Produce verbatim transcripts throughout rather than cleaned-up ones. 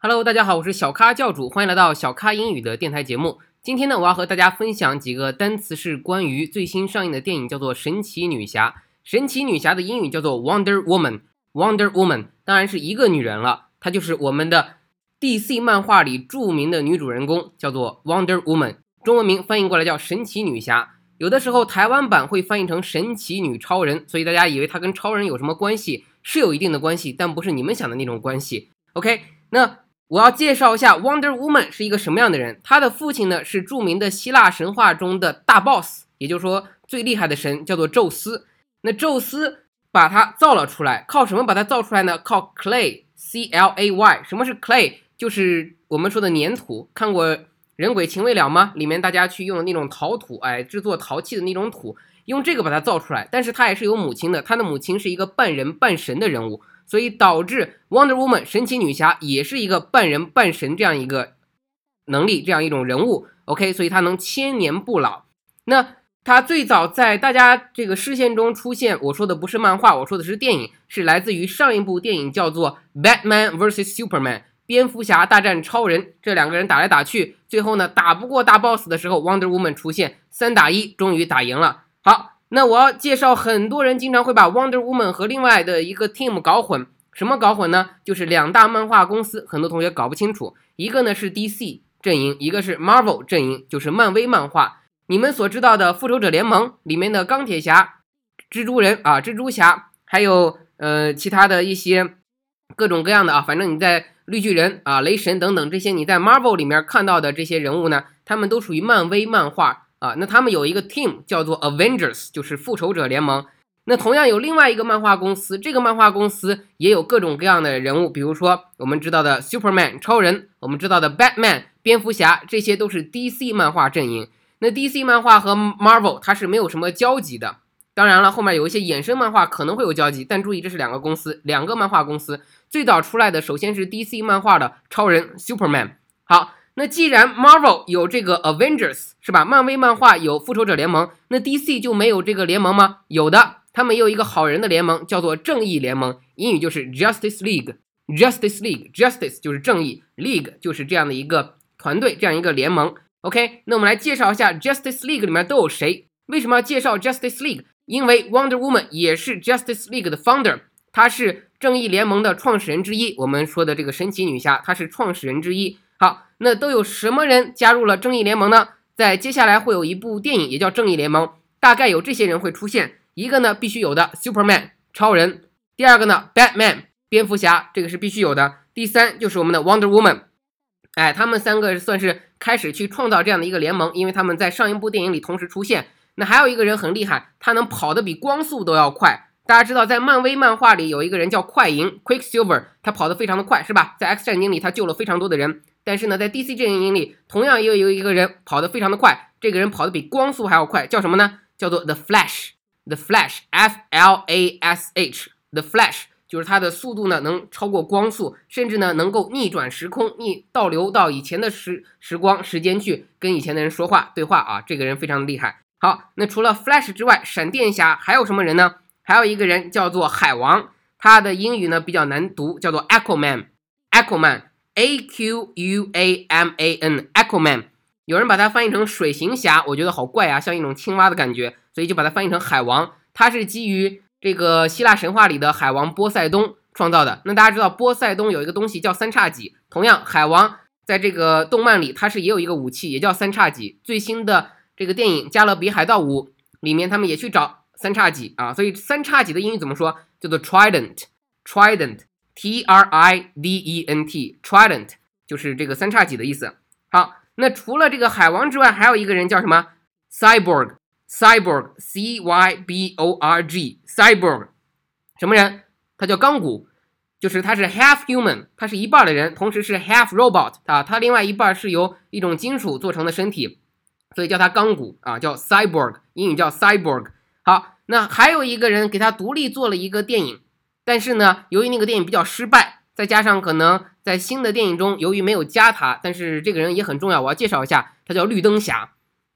Hello， 大家好，我是小咖教主，欢迎来到小咖英语的电台节目。今天呢，我要和大家分享几个单词，是关于最新上映的电影，叫做《神奇女侠》。神奇女侠的英语叫做 Wonder Woman，Wonder Woman 当然是一个女人了，她就是我们的 D C 漫画里著名的女主人公，叫做 Wonder Woman， 中文名翻译过来叫神奇女侠。有的时候台湾版会翻译成神奇女超人，所以大家以为她跟超人有什么关系，是有一定的关系，但不是你们想的那种关系。OK， 那我要介绍一下 Wonder Woman 是一个什么样的人。她的父亲呢是著名的希腊神话中的大 boss， 也就是说最厉害的神，叫做宙斯。那宙斯把他造了出来，靠什么把他造出来呢？靠 clay， C L A Y。 什么是 clay？ 就是我们说的粘土。看过人鬼情未了吗？里面大家去用的那种陶土，哎，制作陶器的那种土，用这个把它造出来。但是他也是有母亲的，他的母亲是一个半人半神的人物，所以导致 Wonder Woman 神奇女侠也是一个半人半神这样一个能力，这样一种人物。 OK， 所以她能千年不老。那她最早在大家这个视线中出现，我说的不是漫画，我说的是电影，是来自于上一部电影叫做 Batman versus Superman， 蝙蝠侠大战超人。这两个人打来打去，最后呢打不过大 boss 的时候， Wonder Woman 出现，三打一终于打赢了。好，那我要介绍，很多人经常会把 Wonder Woman 和另外的一个 team 搞混。什么搞混呢？就是两大漫画公司，很多同学搞不清楚，一个呢是 D C 阵营，一个是 Marvel 阵营，就是漫威漫画。你们所知道的复仇者联盟里面的钢铁侠、蜘蛛人啊、蜘蛛侠，还有呃其他的一些各种各样的啊，反正你在绿巨人啊、雷神等等这些你在 Marvel 里面看到的这些人物呢，他们都属于漫威漫画啊。那他们有一个 team 叫做 Avengers， 就是复仇者联盟。那同样有另外一个漫画公司，这个漫画公司也有各种各样的人物，比如说我们知道的 Superman 超人，我们知道的 Batman 蝙蝠侠，这些都是 D C 漫画阵营。那 D C 漫画和 Marvel 它是没有什么交集的，当然了，后面有一些衍生漫画可能会有交集，但注意这是两个公司，两个漫画公司。最早出来的首先是 D C 漫画的超人 Superman。 好，那既然 Marvel 有这个 Avengers 是吧，漫威漫画有复仇者联盟，那 D C 就没有这个联盟吗？有的，他们也有一个好人的联盟，叫做正义联盟，英语就是 Justice League。 Justice League， Justice 就是正义， League 就是这样的一个团队，这样一个联盟。 OK， 那我们来介绍一下 Justice League 里面都有谁。为什么要介绍 Justice League？ 因为 Wonder Woman 也是 Justice League 的 founder， 她是正义联盟的创始人之一，我们说的这个神奇女侠她是创始人之一。好，那都有什么人加入了正义联盟呢？在接下来会有一部电影也叫正义联盟，大概有这些人会出现。一个呢必须有的 Superman 超人，第二个呢 Batman 蝙蝠侠，这个是必须有的。第三就是我们的 Wonder Woman。 哎，他们三个算是开始去创造这样的一个联盟，因为他们在上一部电影里同时出现。那还有一个人很厉害，他能跑得比光速都要快。大家知道在漫威漫画里有一个人叫快银 Quicksilver， 他跑得非常的快是吧，在 X 战警里他救了非常多的人。但是呢在 D C 阵营里同样也有一个人跑得非常的快，这个人跑得比光速还要快，叫什么呢？叫做 The Flash。 The Flash F L A S H The Flash 就是他的速度呢能超过光速，甚至呢能够逆转时空，逆倒流到以前的时时光时间去跟以前的人说话对话啊，这个人非常的厉害。好，那除了 Flash 之外，闪电侠还有什么人呢？还有一个人叫做海王，他的英语呢比较难读，叫做 Aquaman。 Aquaman A Q U A M A N Aquaman， 有人把它翻译成水行侠，我觉得好怪啊，像一种青蛙的感觉，所以就把它翻译成海王。他是基于这个希腊神话里的海王波塞冬创造的。那大家知道波塞冬有一个东西叫三叉戟，同样海王在这个动漫里他是也有一个武器，也叫三叉戟。最新的这个电影《加勒比海盗五》里面他们也去找三叉戟啊，所以三叉戟的英语怎么说？叫做 Trident。 Trident T R I D E N T Trident 就是这个三叉戟的意思。好，那除了这个海王之外，还有一个人叫什么？ Cyborg Cyborg C Y B O R G Cyborg 什么人？他叫钢骨，就是他是 half human， 他是一半的人，同时是 half robot 啊，他另外一半是由一种金属做成的身体，所以叫他钢骨啊，叫 Cyborg， 英语叫 Cyborg。 好，那还有一个人给他独立做了一个电影，但是呢由于那个电影比较失败，再加上可能在新的电影中由于没有加他，但是这个人也很重要，我要介绍一下，他叫绿灯侠。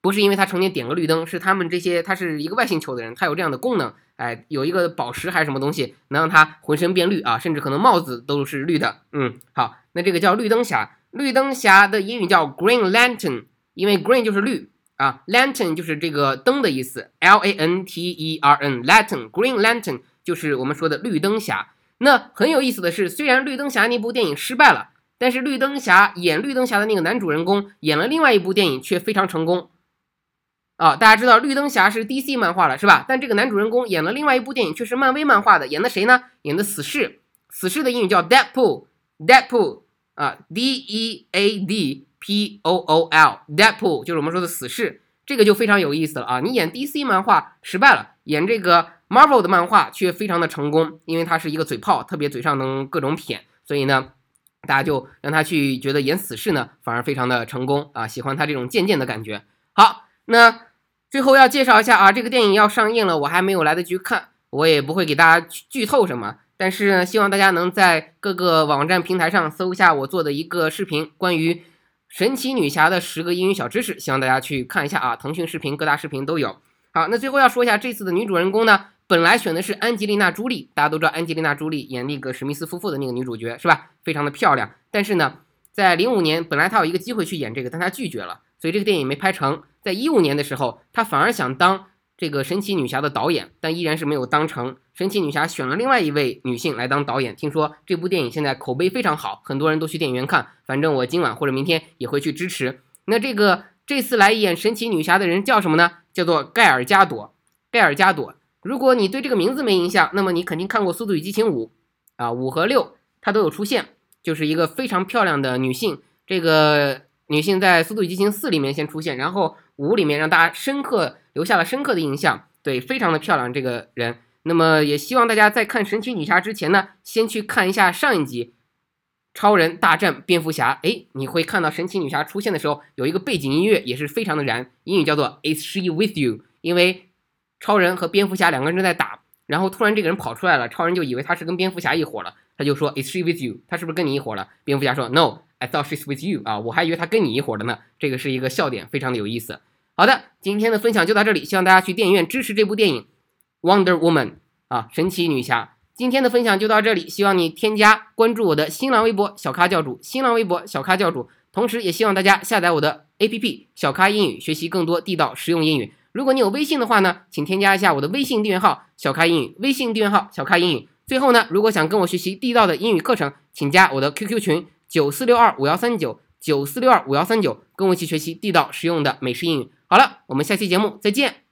不是因为他成天点个绿灯，是他们这些他是一个外星球的人，他有这样的功能，哎，有一个宝石还是什么东西能让他浑身变绿啊，甚至可能帽子都是绿的。嗯，好，那这个叫绿灯侠。绿灯侠的英语叫 Green Lantern， 因为 Green 就是绿啊 ，Lantern 就是这个灯的意思 ，L A N T E R N Lantern Green Lantern 就是我们说的绿灯侠。那很有意思的是，虽然绿灯侠那部电影失败了，但是绿灯侠演绿灯侠的那个男主人公演了另外一部电影却非常成功。啊，大家知道绿灯侠是 D C 漫画了是吧？但这个男主人公演了另外一部电影却是漫威漫画的，演的谁呢？演的死侍。死侍的英语叫 Deadpool，Deadpool 啊 ，D E A D P O O L，Deadpool 就是我们说的死侍。这个就非常有意思了啊！你演 D C 漫画失败了，演这个 Marvel 的漫画却非常的成功，因为他是一个嘴炮，特别嘴上能各种谝，所以呢，大家就让他去觉得演死侍呢反而非常的成功啊，喜欢他这种贱贱的感觉。好。那最后要介绍一下啊，这个电影要上映了，我还没有来得及看，我也不会给大家剧透什么，但是呢，希望大家能在各个网站平台上搜一下我做的一个视频，关于神奇女侠的十个英语小知识，希望大家去看一下啊，腾讯视频各大视频都有。好，那最后要说一下这次的女主人公呢，本来选的是安吉丽娜·朱莉，大家都知道安吉丽娜·朱莉演那个史密斯夫妇的那个女主角是吧？非常的漂亮，但是呢，在零五年本来她有一个机会去演这个，但她拒绝了，所以这个电影没拍成。在一五年的时候，她反而想当这个神奇女侠的导演，但依然是没有当成。神奇女侠选了另外一位女性来当导演，听说这部电影现在口碑非常好，很多人都去电影院看，反正我今晚或者明天也会去支持。那这个这次来演神奇女侠的人叫什么呢？叫做盖尔加朵。盖尔加朵，如果你对这个名字没印象，那么你肯定看过《速度与激情五》啊，五和六它都有出现，就是一个非常漂亮的女性。这个女性在《速度与激情四》里面先出现，然后五里面让大家深刻留下了深刻的印象，对，非常的漂亮这个人。那么也希望大家在看神奇女侠之前呢，先去看一下上一集超人大战蝙蝠侠。诶，你会看到神奇女侠出现的时候有一个背景音乐也是非常的燃，英语叫做 Is she with you？ 因为超人和蝙蝠侠两个人正在打，然后突然这个人跑出来了，超人就以为他是跟蝙蝠侠一伙了，他就说 Is she with you？ 他是不是跟你一伙了？蝙蝠侠说 No，I thought she's with you 啊，我还以为他跟你一伙的呢。这个是一个笑点，非常的有意思。好的，今天的分享就到这里，希望大家去电影院支持这部电影 Wonder Woman 啊，神奇女侠。今天的分享就到这里，希望你添加关注我的新浪微博小咖教主，新浪微博小咖教主，同时也希望大家下载我的 A P P 小咖英语，学习更多地道实用英语。如果你有微信的话呢，请添加一下我的微信订阅号小咖英语，微信订阅号小咖英语。最后呢，如果想跟我学习地道的英语课程，请加我的 Q Q 群九四六二五幺三九 九四六二五幺三九，跟我一起学习地道实用的美式英语。好了，我们下期节目再见。